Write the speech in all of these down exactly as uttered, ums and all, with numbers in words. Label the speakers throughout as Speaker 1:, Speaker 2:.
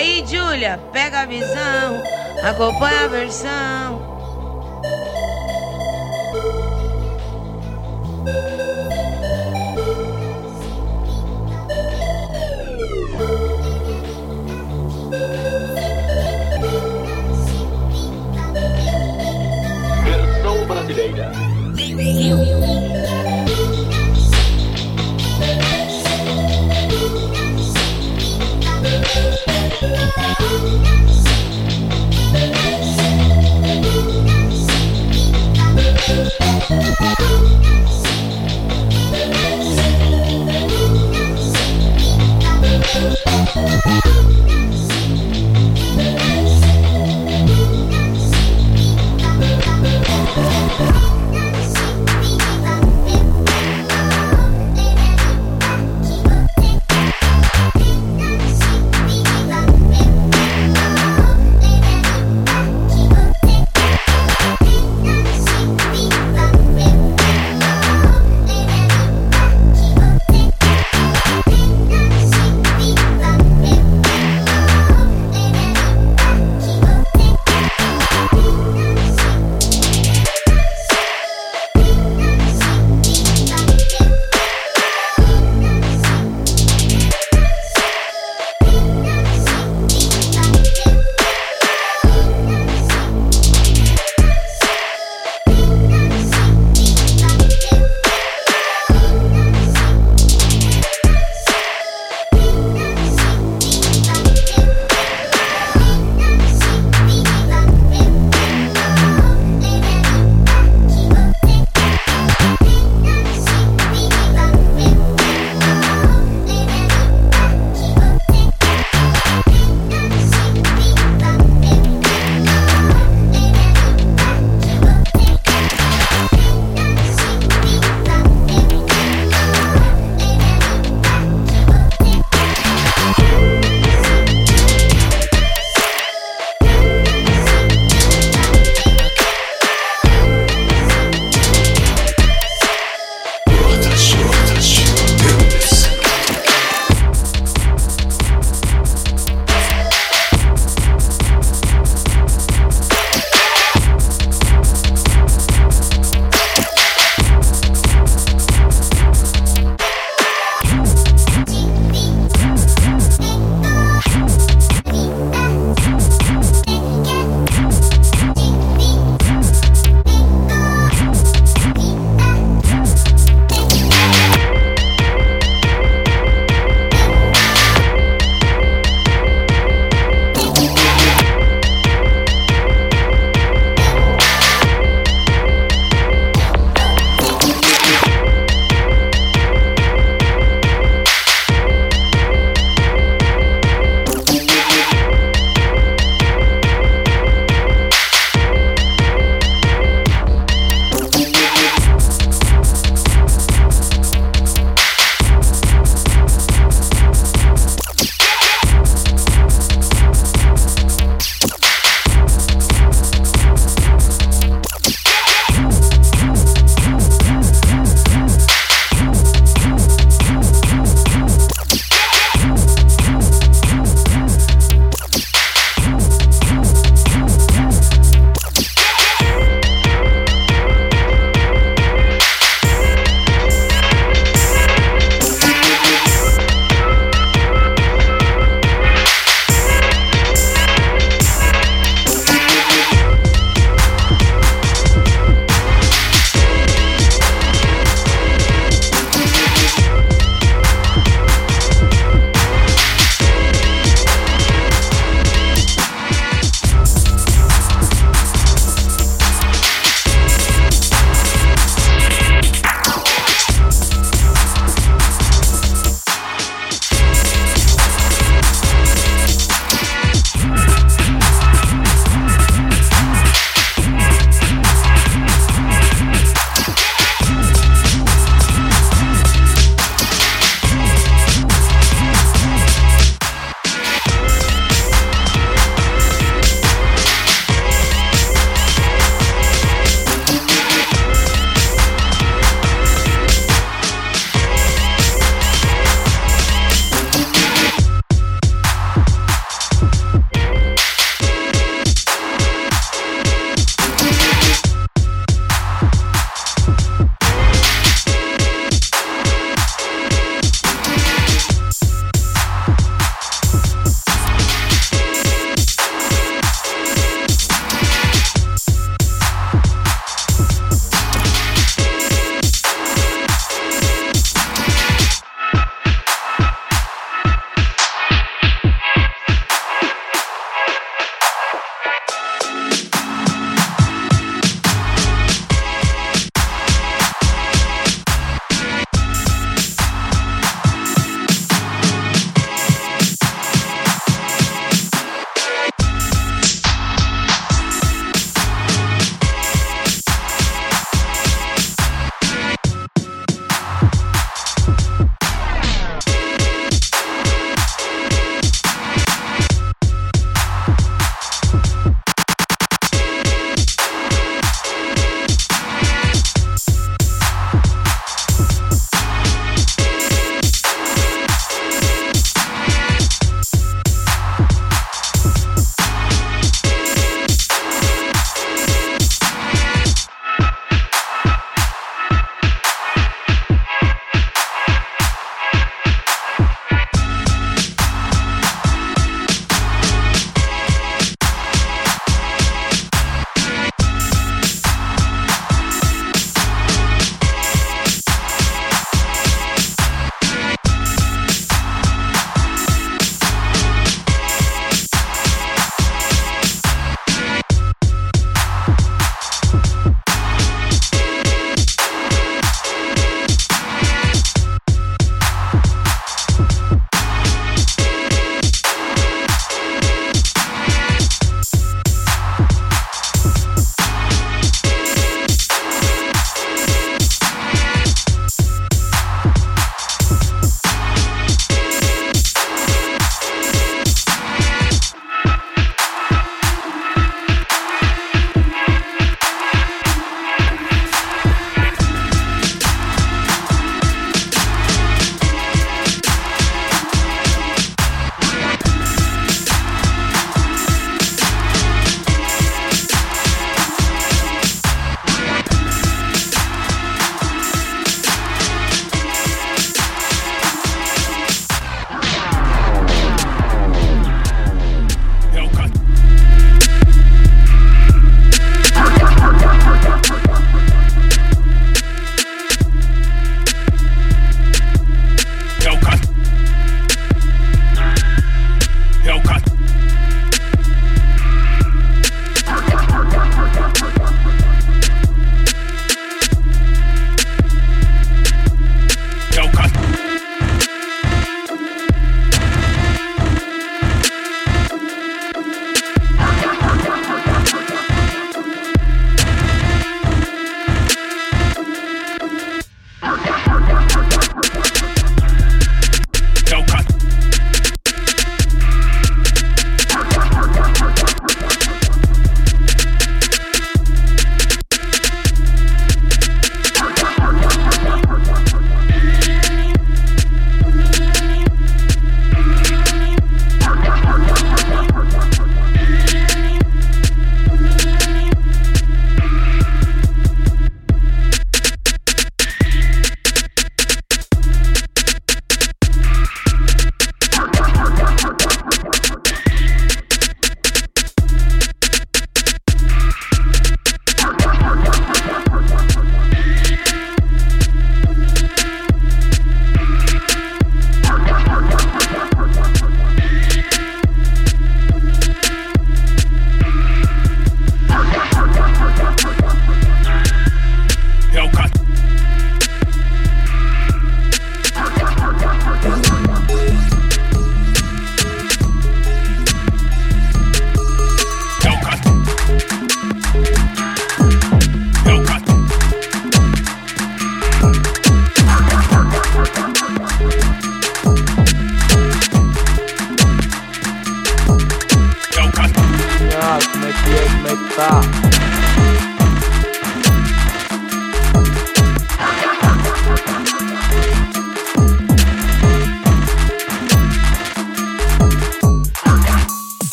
Speaker 1: Aí, Júlia, pega a visão, acompanha a versão.
Speaker 2: Versão brasileira.
Speaker 3: We'll be right back.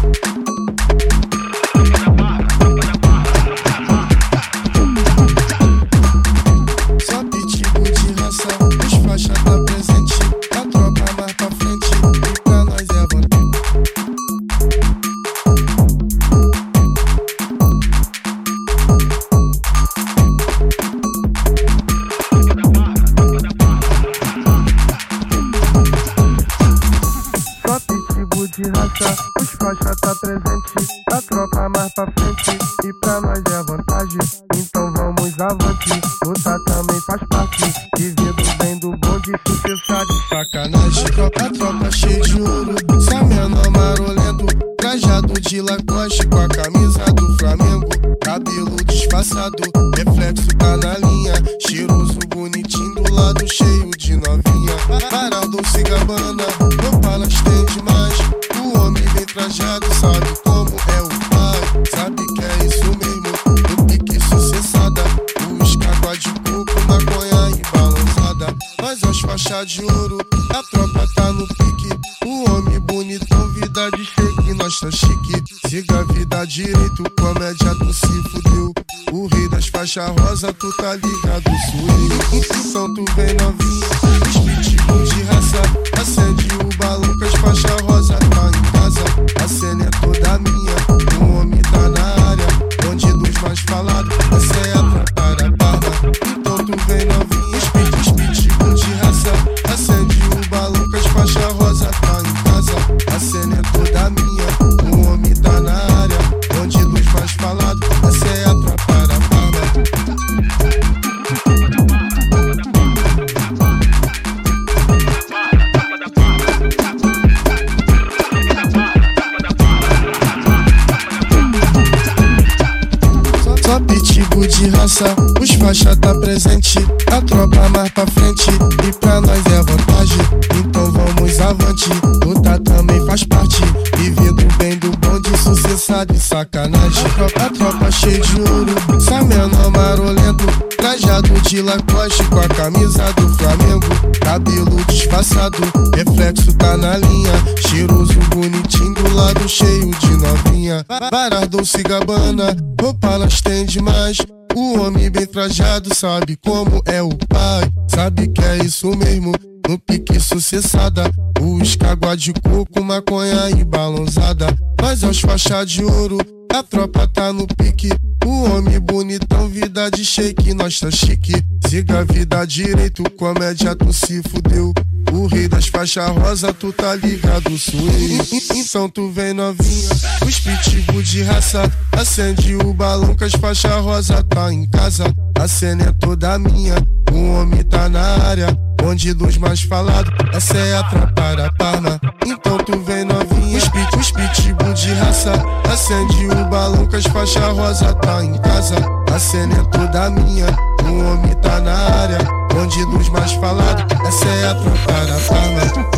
Speaker 2: Só pitbull de raça, os faixa tá presente. A tropa mais pra frente e pra nós é vantagem. Só pitbull de raça, os faixa tá presente. A tropa mais pra frente e pra nós é vantagem. Então vamos avante, lutar também faz parte. Vivido bem do bonde, sucesso de sacanagem. A tropa, a tropa cheia de ouro, sai menor marolento. Trajado de Lacoste com a camisa do Flamengo. Cabelo disfarçado, reflexo tá na linha. Cheiroso, bonitinho, do lado cheio de novinha. Parado se gabana, roupa tem demais. O homem bem trajado sabe como é o pai. Sabe que é isso mesmo, no pique sucessada. Os cágua de coco, maconha e balançada. Nós as faixas de ouro, a tropa tá no pique. O homem bonitão, vida de shake, nós tá chique. Siga a vida direito, comédia tu se fudeu. O rei das faixas rosa, tu tá ligado, suei. Então tu vem novinha, os pitbull de raça. Acende o balão que as faixas rosa tá em casa. A cena é toda minha, o homem tá na área. Onde dos mais falados, essa é a tropa da barra. Então tu vem novinha, os pit, os pitbull de raça. Acende o balão que as faixas rosa tá em casa. A cena é toda minha, o homem tá na área. Onde dos mais falados, essa é a tropa da barra. Só pitbull de raça, os faixa tá presente. A tropa mais pra frente e pra nós é vantagem. Então vamos avante, lutar também faz parte. Vivido bem do bonde, sucessado de sacanagem. A tropa, a tropa cheia de ouro, sai menor marolento. Trajado de Lacoste com a camisa do Flamengo. Cabelo disfarçado, reflexo tá na linha. Cheiroso, bonitinho, do lado cheio de novinha. Parado se gabana, roupa elas tem demais. O homem bem trajado sabe como é o pai. Sabe que é isso mesmo, no pique sucessada. Os cágua de coco, maconha e balançada. Mas aos faixa de ouro, a tropa tá no pique. O homem bonitão, vida de shake, nós tá chique. Siga a vida direito, comédia tu se fudeu. O rei das faixas rosa, tu tá ligado, suei. Então tu vem novinha, os pitbull de raça. Acende o balão que as faixas rosa tá em casa. A cena é toda minha, o homem tá na área. Onde dos mais falados, essa é a tropa da Parma. Então tu vem novinha, os, pit, os pitbull de raça. Acende o balão que as faixas rosa tá em casa. A cena é toda minha, o homem tá na área. Onde dos mais falados, essa é a tropa da Parma.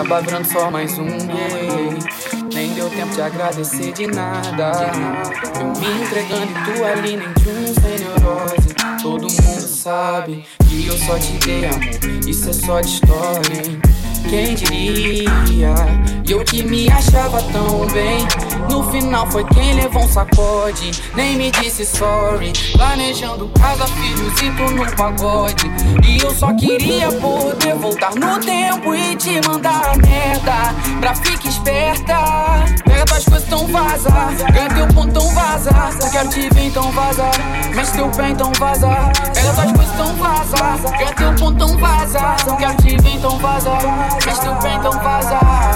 Speaker 3: acaba virando só mais um, yeah. Nem deu tempo de agradecer de nada. Eu me entregando e tu ali nem de um sem neurose. Todo mundo sabe que eu só te dei amor, isso é só de história, hein? Quem diria? E eu que me achava tão bem, no final foi quem levou um sacode. Nem me disse sorry, planejando casa, filhos e tu no pagode. E eu só queria poder voltar no tempo e te mandar a merda, pra ficar esperta. Pega tuas coisas, então vaza, ganha teu ponto, então vaza. Não quero te ver, então vaza, mexe teu pé, então vaza. Pega tuas coisas, então vaza, ganha teu ponto, então vaza. Não quero te ver, então vaza, mexe teu pé, então vaza.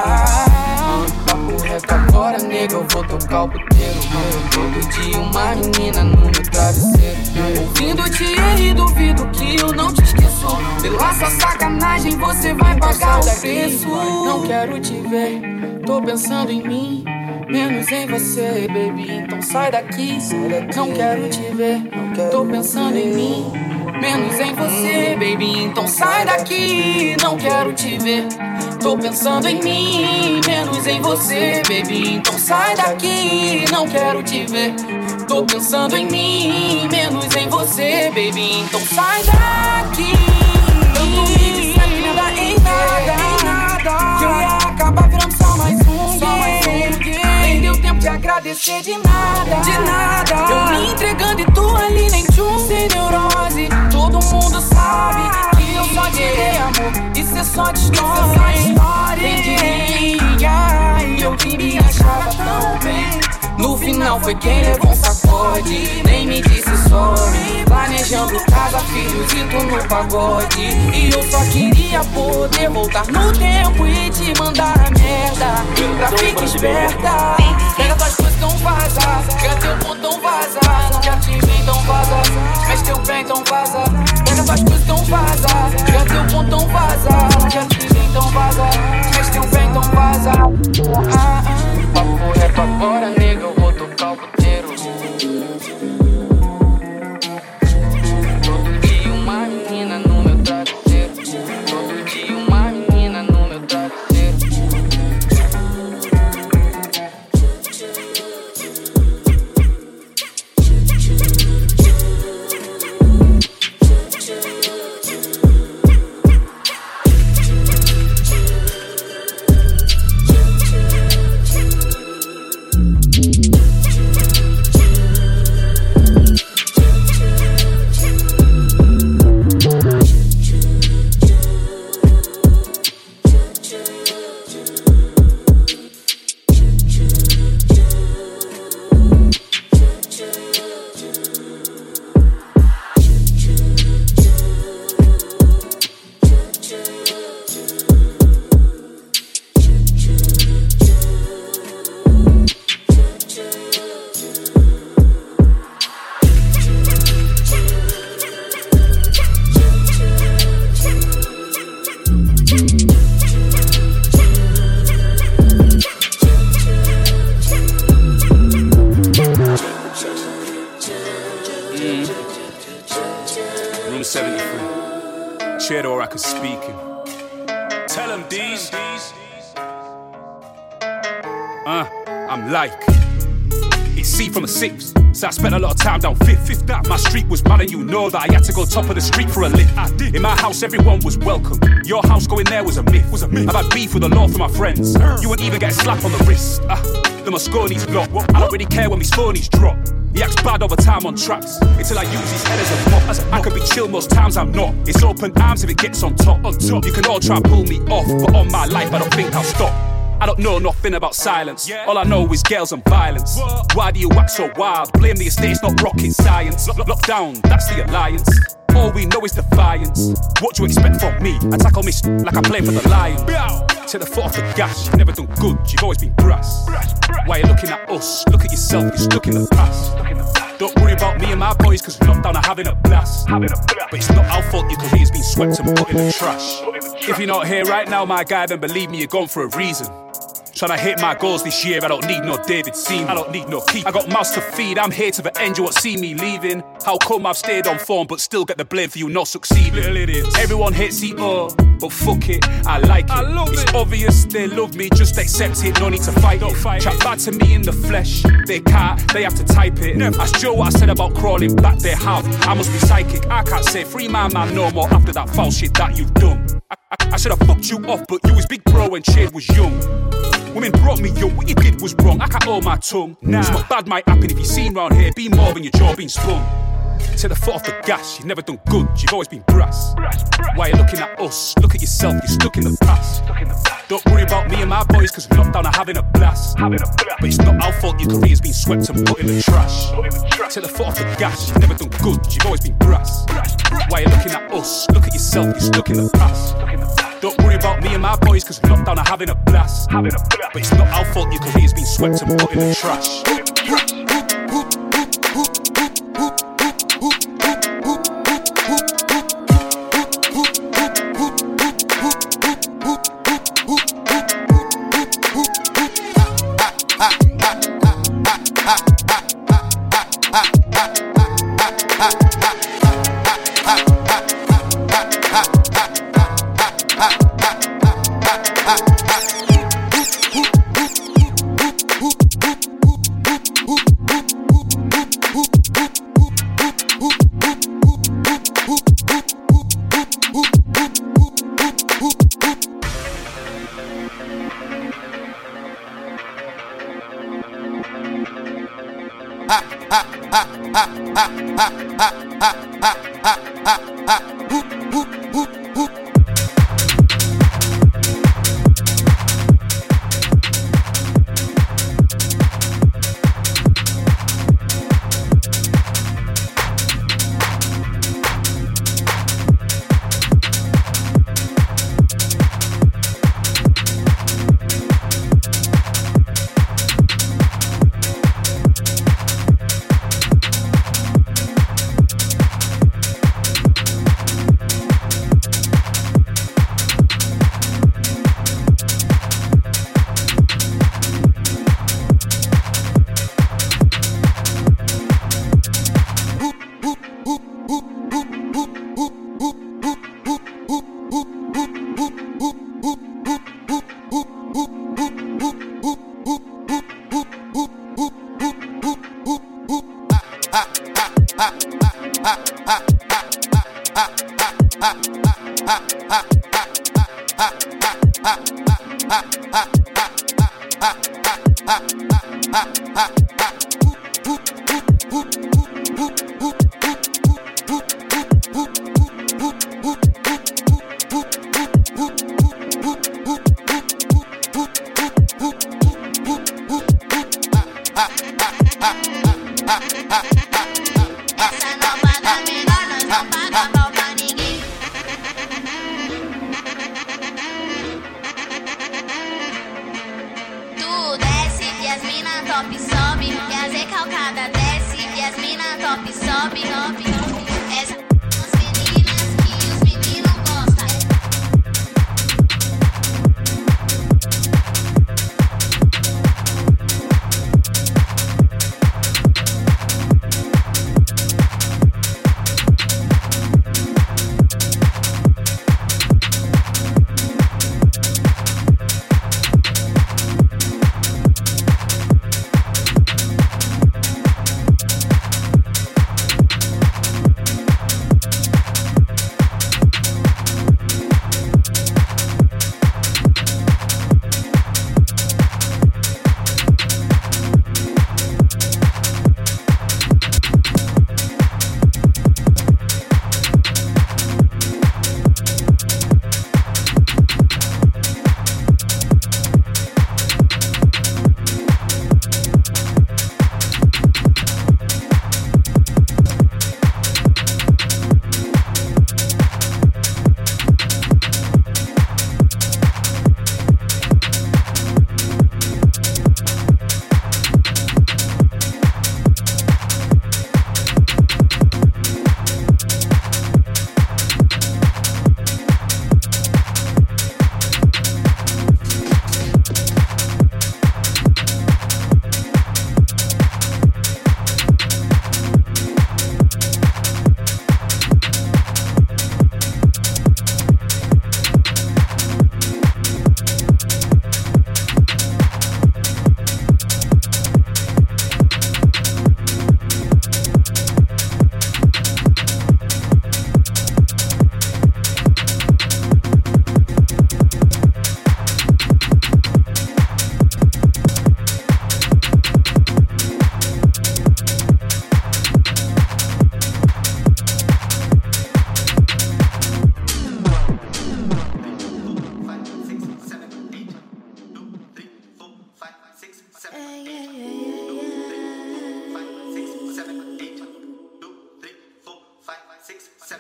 Speaker 3: Papo reto agora, nega, eu vou tocar o puteiro. Todo dia uma menina no meu travesseiro, ouvindo-te e duvido que eu não te esqueço. Pela sua sacanagem você vai pagar o preço. Não quero te ver, tô pensando em mim, menos em você, baby, então sai daqui. Não quero te ver, tô pensando em mim, menos em você, baby, então sai daqui. Não quero te ver, tô pensando em mim, menos em você, baby, então sai daqui. Não quero te ver, tô pensando em mim, menos em você, baby, então sai daqui. Eu não me nada em nada, que eu ia acabar virando só mais um, só mais um. Nem deu tempo de agradecer de nada, de nada. Eu me entregando e tu ali nem tchum, sem neurose. Todo mundo sabe que eu só te dei amor, isso é só de história. Quem diria? E eu que me achava tão bem, no final foi quem levou um sacode. Nem me disse sorry, planejando casa, filhos e tu no pagode. E eu só queria poder voltar no tempo e te mandar a merda, pra ficar esperta. Pega tuas coisas, então vaza, ganha teu ponto, então vaza. Não quero te ver, então vaza, mexe teu pé, então vaza. Pega tuas coisas, então vaza, ganha teu ponto, então vaza. Não quero te ver, então vaza, mexe teu pé, então vaza. Ah, ah. Papo reto agora, nega, eu vou tocar o puteiro. Todo dia uma menina no meu travesseiro, todo dia uma menina no meu travesseiro.
Speaker 4: So I spent a lot of time down fifth, fifth down. My street was bad and you know that I had to go top of the street for a lift. I did. In my house everyone was welcome, your house going there was a myth, was a myth. I've had beef with the law for my friends, you wouldn't even get a slap on the wrist. Ah, the Mosconi's block, I don't really care when me Sponies drop. He acts bad over time on tracks, until I use his head as a mop. As a I could be chill most times I'm not, it's open arms if it gets on top. On top. You can all try and pull me off, but on my life I don't think I'll stop. I don't know nothing about silence, all I know is girls and violence. Why do you act so wild? Blame the estate, it's not rocket science. Lockdown, that's the alliance. All we know is defiance. What do you expect from me? I tackle me like I play for the Lions. Take the foot off the gas, you've never done good, you've always been brass. Why you looking at us? Look at yourself, you're stuck in the past. Don't worry about me and my boys, cause lockdown are having a blast. But it's not our fault your career's been swept and put in the trash. If you're not here right now, my guy, then believe me, you're gone for a reason. Tryna hit my goals this year, I don't need no David Seaman. I don't need no keep. I got mouths to feed, I'm here to the end, you won't see me leaving. How come I've stayed on form but still get the blame for you not succeeding? Little idiots. Everyone hates E O, but fuck it, I like it. I love it's it. Obvious they love me, just accept it, no need to fight don't it. Fight Chat it. Bad to me in the flesh, they can't, they have to type it. Never. Ask Joe what I said about crawling back, they have. I must be psychic, I can't say free my man no more after that foul shit that you've done. I, I, I should have fucked you off, but you was big bro when Shade was young. Women brought me young, what you did was wrong, I can't hold my tongue. Nah. It's not bad might happen if you seen round here, be more than your jaw being spun. Take the foot off the gas, you've never done good, you've always been brass. brass, brass. Why are you looking at us? Look at yourself, you're stuck in the past. Stuck in the past. Don't worry about me and my boys, cause lockdown are having a blast. Having a blast. But it's not our fault your career's been swept and put in the trash. Put in the trash. Take the foot off the gas, you've never done good, you've always been brass. brass, brass. Why are you looking at us? Look at yourself, you're stuck in the past. Stuck in the past. Don't worry about me and my boys, cause lockdown are having a blast. Having a blast. But it's not our fault your career's been swept and put in the trash. Put in the trash.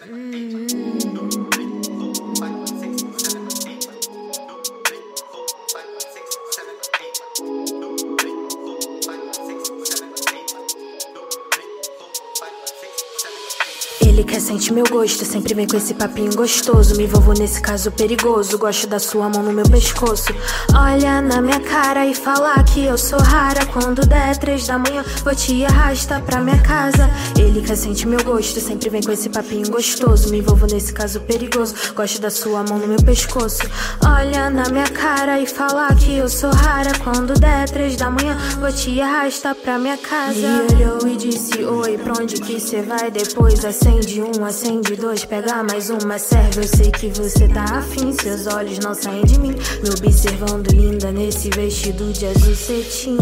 Speaker 5: Ele quer sentir meu gosto, sempre vem com esse papinho gostoso. Me envolvo nesse caso perigoso, gosto da sua mão no meu pescoço. Olha na minha cara e fala que eu sou rara. Quando der três da manhã, vou te arrastar pra minha casa. Ele quer sentir meu gosto, sempre vem com esse papinho gostoso. Me envolvo nesse caso perigoso, gosto da sua mão no meu pescoço. Olha na minha cara e fala que eu sou rara. Quando der três da manhã, vou te arrastar pra minha casa. Me olhou e disse oi, pra onde que cê vai depois? Acende um, acende dois, pega mais uma, serve. Eu sei que você tá afim, seus olhos não saem de mim, me observando linda nesse vestido de azul cetim.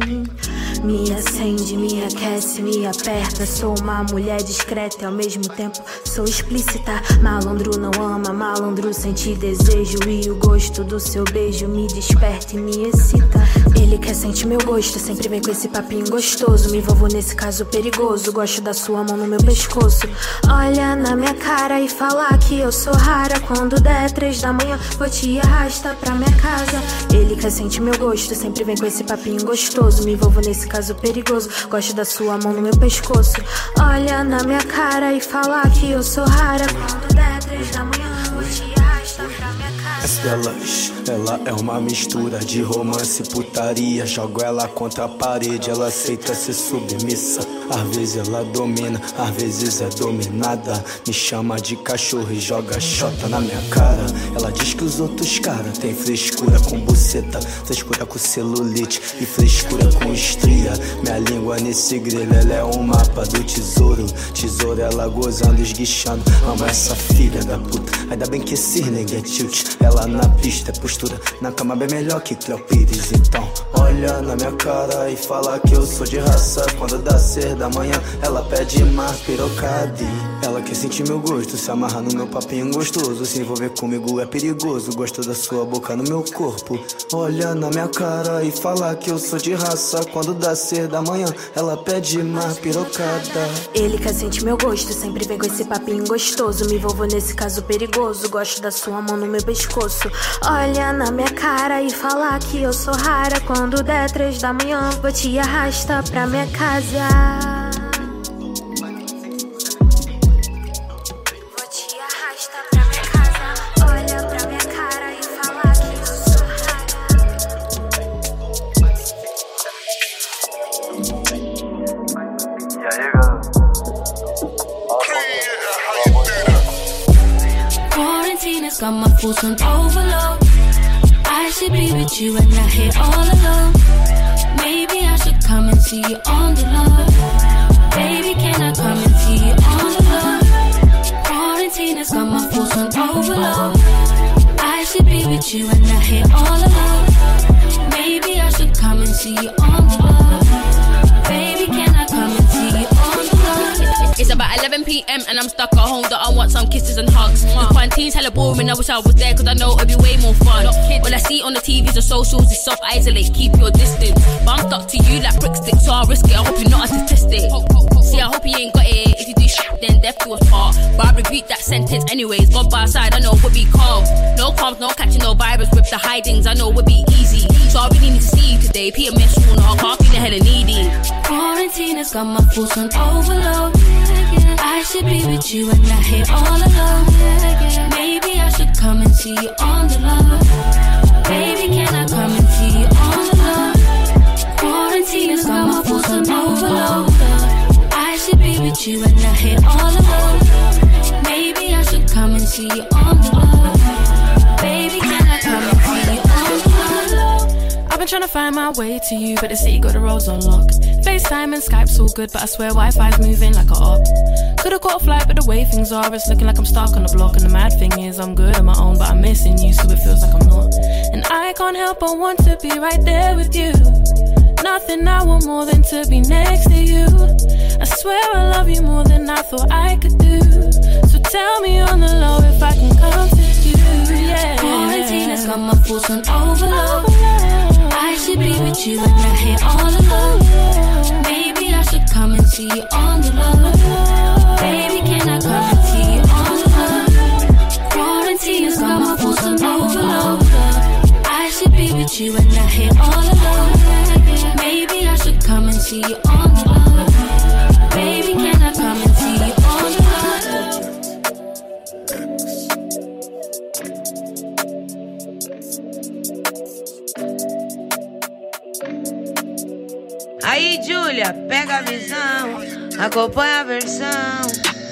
Speaker 5: Me acende, me aquece, me aperta. Sou uma mulher discreta e ao mesmo tempo sou explícita. Malandro não ama, malandro sente desejo. E o gosto do seu beijo me desperta e me excita. Ele quer sentir meu gosto, sempre vem com esse papinho gostoso. Me envolvo nesse caso perigoso, gosto da sua mão no meu pescoço. Olha na minha cara e fala que eu sou rara. Quando der três da manhã, vou te arrastar pra minha casa. Ele quer sentir meu gosto, sempre vem com esse papinho gostoso. Me envolvo nesse caso perigoso, gosto da sua mão no meu pescoço. Olha na minha cara e fala que eu sou rara. Quando der três da manhã, vou te arrastar pra minha casa.
Speaker 6: Estrelas, ela é uma mistura de romance e putaria. Jogo ela contra a parede, ela aceita ser submissa. Às vezes ela domina, às vezes é dominada. Me chama de cachorro e joga xota na minha cara. Ela diz que os outros caras tem frescura com buceta, frescura com celulite e frescura com estria. Minha língua nesse grelho, ela é um mapa do tesouro. Tesouro ela gozando, esguichando. Amo essa filha da puta, ainda bem que esse nigga é tilt. Ela na pista é postura, na cama bem melhor que Cléo Pires. Então olha na minha cara e fala que eu sou de raça. Quando dá ser da manhã, ela pede mais pirocade. Ela quer sentir meu gosto, se amarra no meu papinho gostoso. Se envolver comigo é perigoso, gosto da sua boca no meu corpo. Olha na minha cara e fala que eu sou de raça. Quando dá ser da manhã, ela pede mais pirocada.
Speaker 5: Ele quer sentir meu gosto, sempre vem com esse papinho gostoso. Me envolvo nesse caso perigoso, gosto da sua mão no meu pescoço. Olha na minha cara e fala que eu sou rara. Quando der três da manhã, vou te arrastar pra minha casa.
Speaker 7: Quarantina's got my fools on overload. I should be with you and not here all alone. Maybe I should come and see you on the low. Baby, can I come and see you on the low? Quarantina's got my fools on overload. I should be with you and not here all alone. Maybe I should come and see you on the low. Baby, can I come and see you on the low?
Speaker 8: It's about eleven p.m. and I'm stuck at home that I want some kisses and hugs. The quarantine's hella boring, I wish I was there cause I know it'd be way more fun. All I see on the T Vs and socials is self-isolate, keep your distance. But I'm stuck to you like brick sticks, so I'll risk it, I hope you're not statistic. See, I hope you ain't got it, if you do shit then death do us part. But I repeat that sentence anyways, gone by side, I know it would be calm. No calms, no catching no virus with the hidings, I know it would be easy. So I really need to see you today, Peter Miss, you know I can't feel the hella needy.
Speaker 7: Quarantine has got my fools on overload. I should be with you and not here all alone. Maybe I should come and see you on the low. Baby, can I come and see you on the low? Quarantine has got my fools on overload. I should be with you and not here all alone. Maybe I should come and see you on the low. Baby, can I come and see you on the low?
Speaker 9: I've been trying to find my way to you, but the city got the roads on lock. FaceTime and Skype's all good, but I swear Wi-Fi's moving like a op. Could've got a flight, but the way things are, it's looking like I'm stuck on the block. And the mad thing is, I'm good on my own, but I'm missing you, so it feels like I'm not. And I can't help but want to be right there with you. Nothing I want more than to be next to you. I swear I love you more than I thought I could do. So tell me on the low if I can come to you, yeah.
Speaker 7: Quarantine has got my fools on overload. I should be with you and not here all alone. Maybe I should come and see you on the low. Baby, can I come and see you on see you on the love? Baby, can I come and see you on the
Speaker 1: love? Aí, Júlia, pega a visão, acompanha a versão.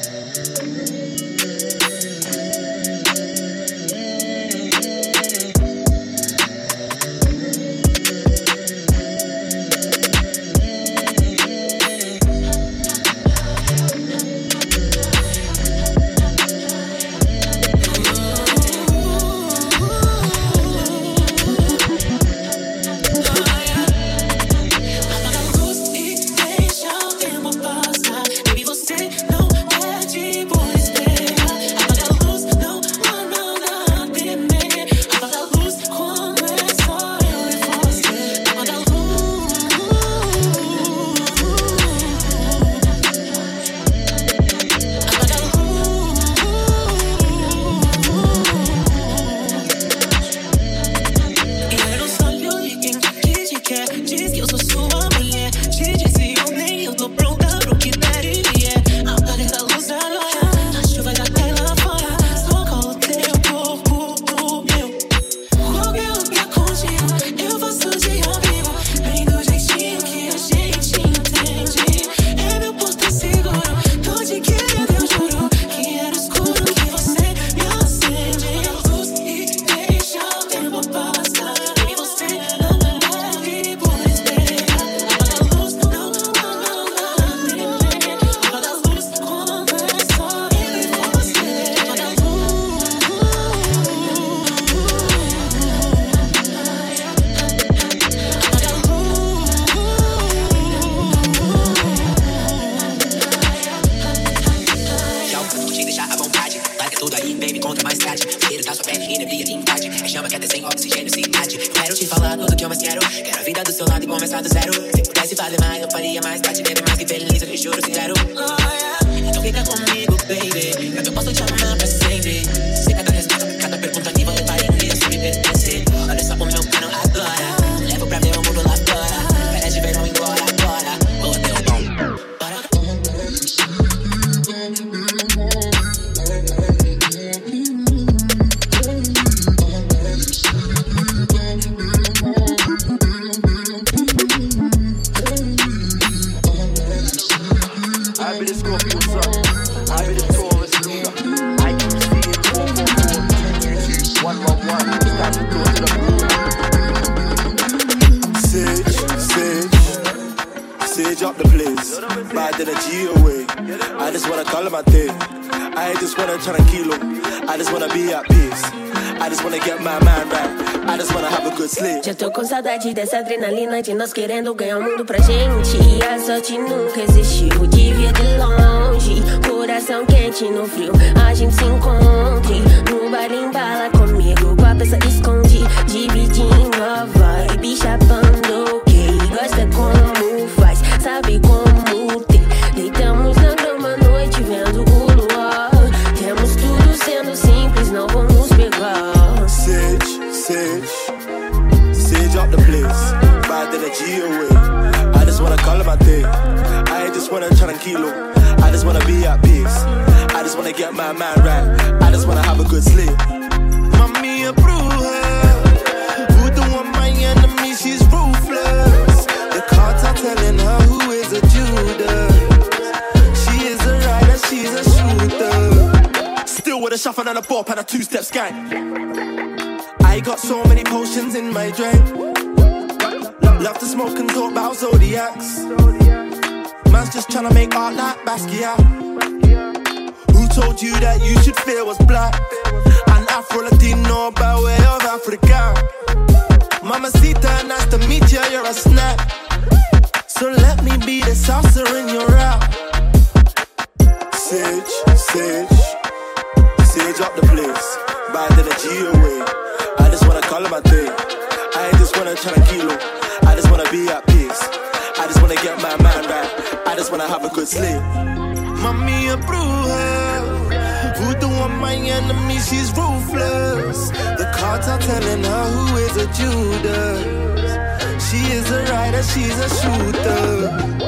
Speaker 10: Já tô com saudade dessa adrenalina de nós querendo ganhar o mundo pra gente. E a sorte nunca existiu, devia de longe. Coração quente no frio, a gente se encontre. No bar embala comigo, com a peça esconde. Dividindo a vibe, chapando quem gosta como faz, sabe como ter. Deitamos na grama à noite vendo o luar. Temos tudo sendo simples, não vamos pegar.
Speaker 6: Sage, Sage Sage up the place, bad energy away. I just wanna call it my day. I just wanna tranquilo. I just wanna be at peace. I just wanna get my mind right. I just wanna have a good sleep. Mommy approve her. Who the one my enemy? She's ruthless. The cards are telling her who is a Judas. She is a rider, she's a shooter. Still with a shuffle and a bop and a two-step skank. I got so many potions in my drink. Love to smoke and talk about zodiacs. Man's just tryna make art like Basquiat. Who told you that you should fear what's black? And Afro-Latino by way of Africa. Mamacita, nice to meet you, you're a snack. So let me be the salsa in your rap. Sage, Sage Sage up the place, bad energy away. I just wanna call it my day. I just wanna tranquilo. I just wanna be at peace. I just wanna get my mind right. I just wanna have a good sleep. Mommy approve her. Who the one my enemy? She's ruthless. The cards are telling her who is a Judas. She is a rider, she's a shooter.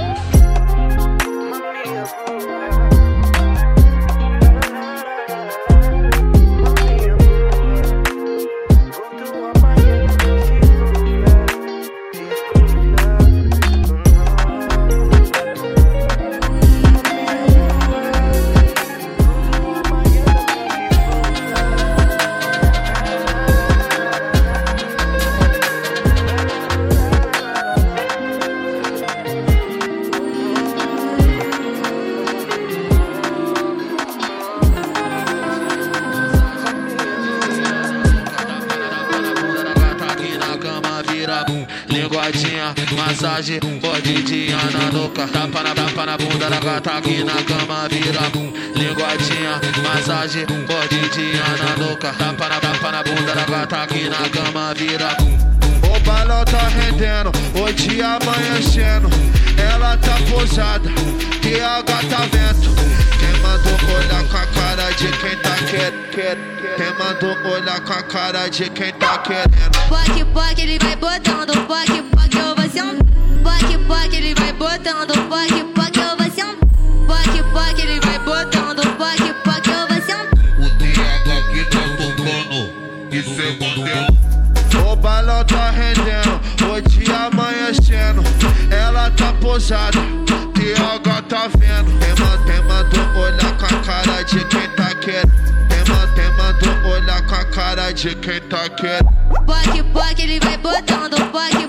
Speaker 11: linguadinha, massagem, mordidinha na nuca. Tapa na, tapa na bunda da gata aqui na cama, vira. Linguadinha, massagem, mordidinha na nuca. Tapa na, tapa na bunda da gata aqui na cama, vira. O balão tá rendendo, o dia amanhecendo. Ela tá posada, T H tá vento. Quem mandou olhar com a cara de quem tá querendo? Quem mandou olhar com a cara de quem tá querendo?
Speaker 12: Poque, poque, ele vai botando. Poque, poque, eu vou ser um. Poque, poque, ele vai botando. Poque, poque, eu vou ser um. Poque, poque, ele vai botando. Poque, poque, eu vou ser um.
Speaker 11: O T H aqui tá tocando, isso é modelo. O balão tá rendendo, o dia amanhecendo. Ela tá posada, T H tá vendo. Quem mandou olhar com a cara de quem tá querendo? Quem mandou olhar com a cara de quem tá querendo?
Speaker 12: Poque, poque, ele vai botando. Poque,